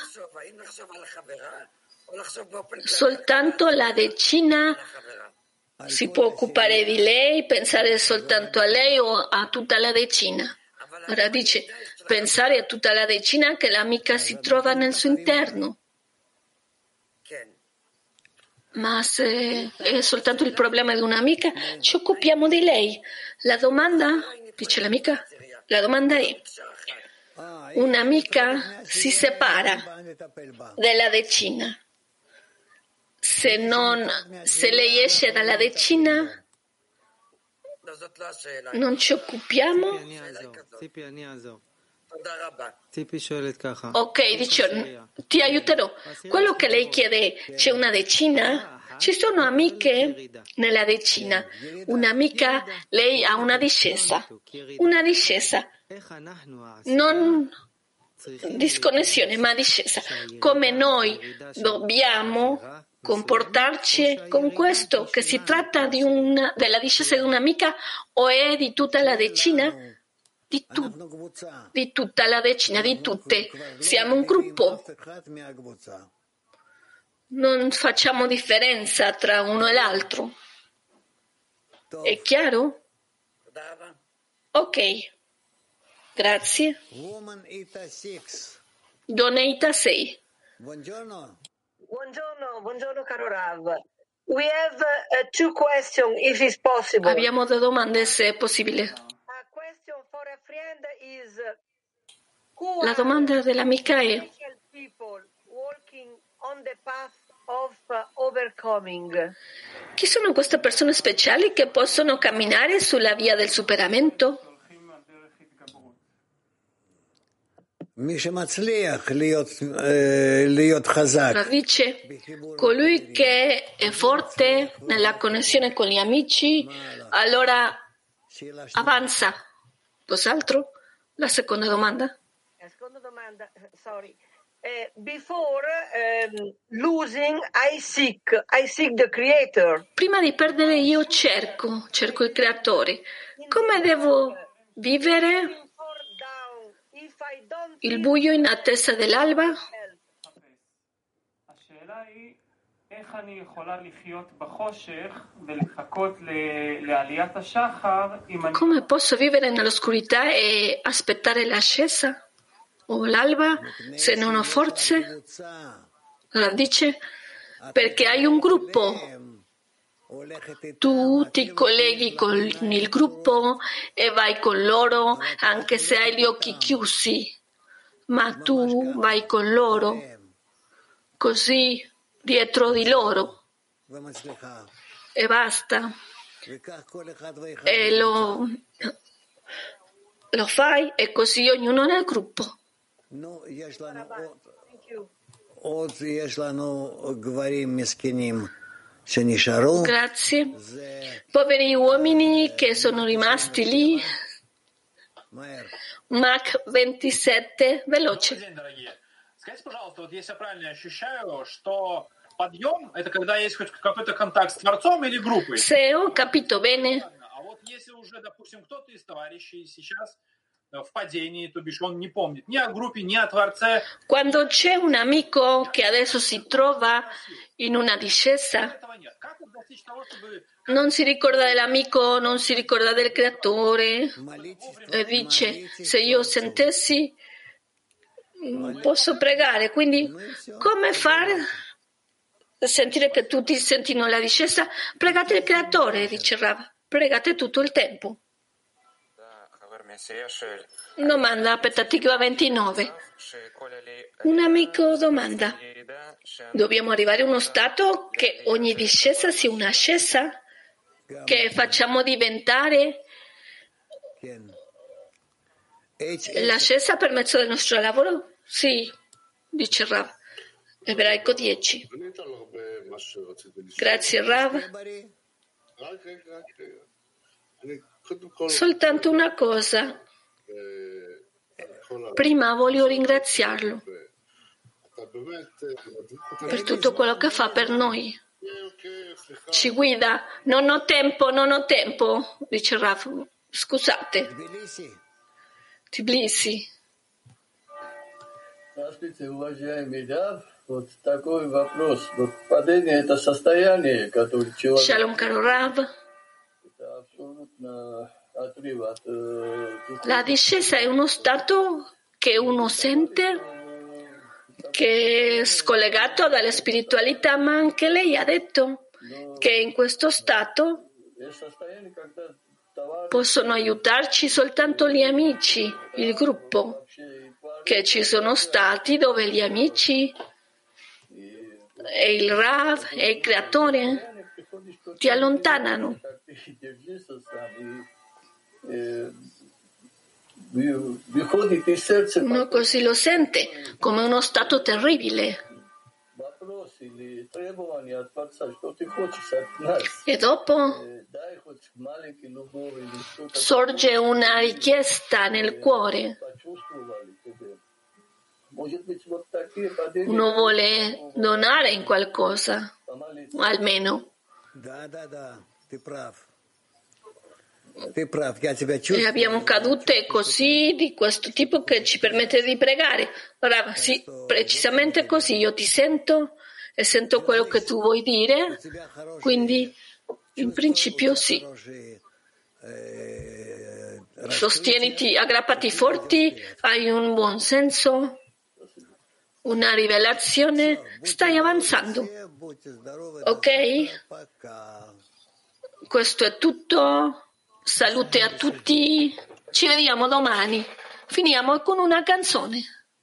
soltanto la decina si può occupare di lei, pensare soltanto a lei o a tutta la decina? Ora dice, pensare a tutta la decina che l'amica si trova nel suo interno. Ma se è soltanto il problema di un'amica, ci occupiamo di lei. La domanda, dice l'amica, la domanda è, un'amica si separa dalla decina. Se non, se lei esce dalla decina, non ci occupiamo? Ok, dice, ti aiuterò. Quello che lei chiede, c'è una decina? Ci sono amiche nella decina. Un'amica, lei ha una discesa. Una discesa. Non disconnessione, ma discesa. Come noi dobbiamo comportarci con questo, che si tratta di una, della discesa di un'amica o è di tutta la decina? Di, tu, di tutta la decina, di tutte. Siamo un gruppo. Non facciamo differenza tra uno e l'altro. È chiaro? Ok. Grazie. Doneita sei. Buongiorno. Buongiorno, buongiorno caro Rav. We have uh, two questions, if it's possible. Abbiamo due domande, se è possibile. A question for a friend is, la domanda dell'amica è: chi sono queste persone speciali che possono camminare sulla via del superamento? Dice, colui che è forte nella connessione con gli amici, allora avanza. Cos'altro? La seconda domanda. La seconda domanda, sorry. Uh, before um, losing, I seek, I seek the creator. Prima di perdere io cerco, cerco il creatore. Come devo vivere il buio in attesa dell'alba? Come posso vivere nell'oscurità e aspettare l'ascesa o l'alba se non ho forze? Allora dice, perché hai un gruppo. Tu ti colleghi con il gruppo e vai con loro anche se hai gli occhi chiusi, ma tu vai con loro, così dietro di loro e basta. E lo, lo fai e così ognuno nel gruppo. Grazie. Poveri uomini che sono rimasti lì. Mach ventisette, veloce. Скажите, пожалуйста, вот если я правильно ощущаю, что подъем — это когда есть хоть какой-то контакт с Творцом или группой. Se ho capito bene. А вот если уже, допустим, кто-то из товарищей сейчас в падении, то бишь он не помнит ни о группе, ни о Творце. Quando c'è un amico che adesso si trova in una discesa, non si ricorda dell'amico, non si ricorda del creatore, e dice, se io sentessi posso pregare, quindi come fare sentire che tutti sentono la discesa, pregate il Creatore, dice Rav, pregate tutto il tempo. Domanda aspettativa ventinove. Un amico domanda: dobbiamo arrivare a uno stato che ogni discesa sia un'ascesa? Che facciamo diventare l'ascesa per mezzo del nostro lavoro? Sì, dice Rav. Ebraico dieci. Grazie Rav. Soltanto una cosa. Prima voglio ringraziarlo per tutto quello che fa per noi. Ci guida. Non ho tempo, non ho tempo, dice Rav. Scusate. Tbilisi. Здравствуйте, уважаемый Рав. Вот такой вопрос. Вот падение – это состояние, которое человек... Shalom, caro Rav. Это абсолютно отрыв от... э, La discesa è uno stato che uno sente, che è scollegato dalla spiritualità, ma anche lei ha detto che in questo stato Есть состояние, когда possono aiutarci soltanto gli amici, il gruppo, che ci sono stati dove gli amici e il Rav e il Creatore ti allontanano. Uno così lo sente come uno stato terribile. E dopo sorge una richiesta nel cuore. Uno vuole donare in qualcosa, almeno. E abbiamo cadute così di questo tipo che ci permette di pregare. Ora, sì, precisamente così. Io ti sento e sento quello che tu vuoi dire, quindi in principio sì. Sostieniti, aggrappati forti, hai un buon senso, una rivelazione, stai avanzando. Ok? Questo è tutto. Salute a tutti, ci vediamo domani. Finiamo con una canzone.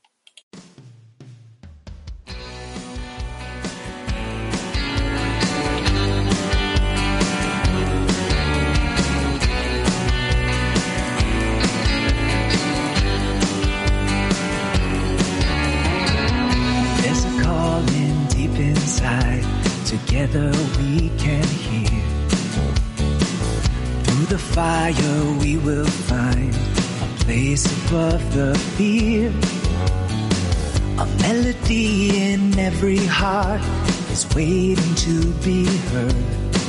There's a calling deep inside. Together we can hear. Through the fire we will find a place above the fear. A melody in every heart is waiting to be heard.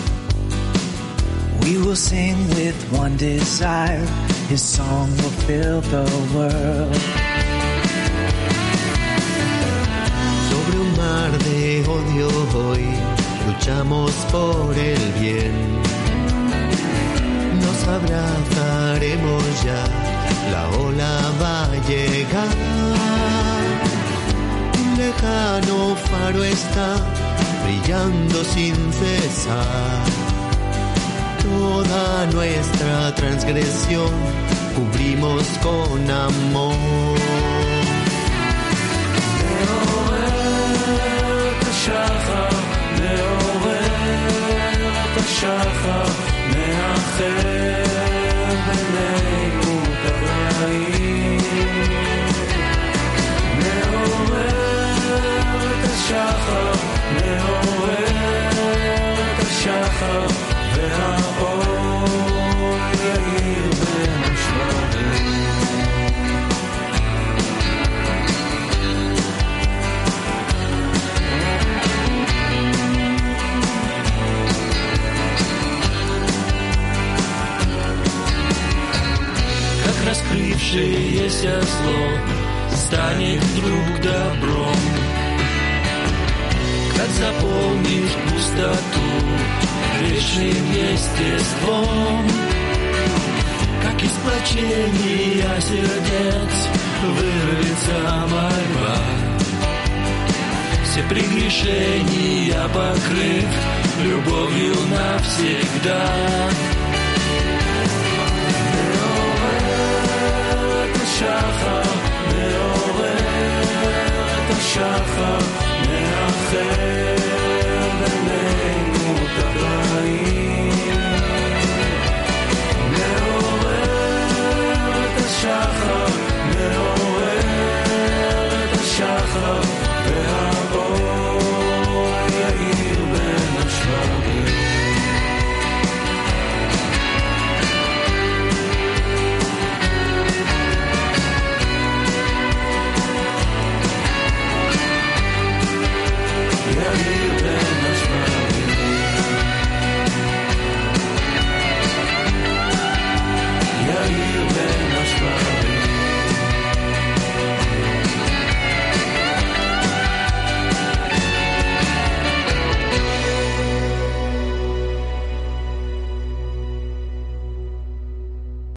We will sing with one desire, His song will fill the world. Sobre un mar de odio hoy luchamos por el bien. Nos abrazaremos ya, la ola va a llegar. Un lejano faro está brillando sin cesar. Toda nuestra transgresión cubrimos con amor. מאחר בינינו ברעים, מעורר את השחר, מעורר את השחר, והאור יאיר בין השמרים. Раскрывшееся зло станет вдруг добром, как заполнишь пустоту вечным естеством, как из сплочения сердец вырвется мольба. все прегрешения покрыв любовью навсегда.